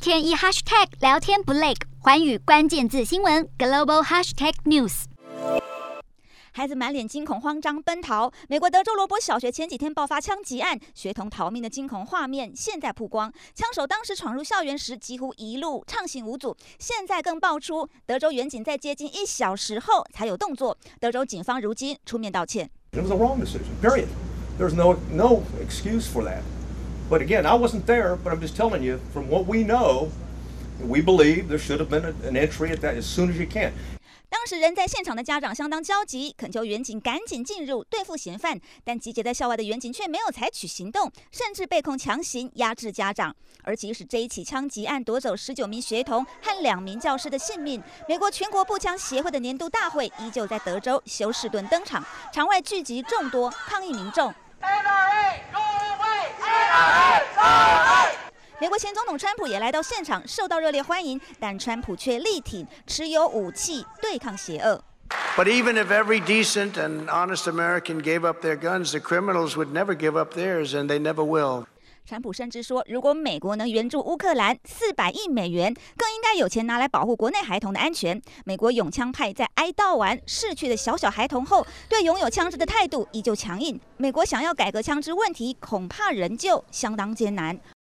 天一 hashtag 聊天不累，寰宇關鍵字新聞 global hashtag news。 孩子滿臉驚恐慌張奔逃。美國德州羅伯小學前幾天爆發槍擊案，學童逃命的驚恐畫面現在曝光。槍手當時闖入校園時幾乎一路暢行無阻，現在更爆出德州員警在接近1小時後才有動作。德州警方如今出面道歉。 It was a wrong decision. Period. There's no excuse for that. But again, I wasn't there, but I'm just telling you from what we know, we believe there should have been an entry at that as soon as you can. 当时人在現場的家長相當焦急，懇求員警趕緊進入對付嫌犯，但集結在校外的員警卻沒有採取行動，甚至被控強行壓制家長。而即使這一起槍擊案奪走19名學童和2名教師的性命，美國全國步槍協會的年度大會依舊在德州休士頓登場，場外聚集眾多抗議民眾。美國前總統川普也來到現場，受到熱烈歡迎，但川普卻力挺持有武器對抗邪惡。 But even if every decent and honest American gave up their guns, the criminals would never give up theirs, and they never will. 川普甚至說，如果美國能援助烏克蘭400億美元，更應該有錢拿來保護國內孩童的安全。美國擁槍派在哀悼完逝去的小孩童後，對擁有槍支的態度依舊強硬。美國想要改革槍支問題，恐怕仍舊相當艱難。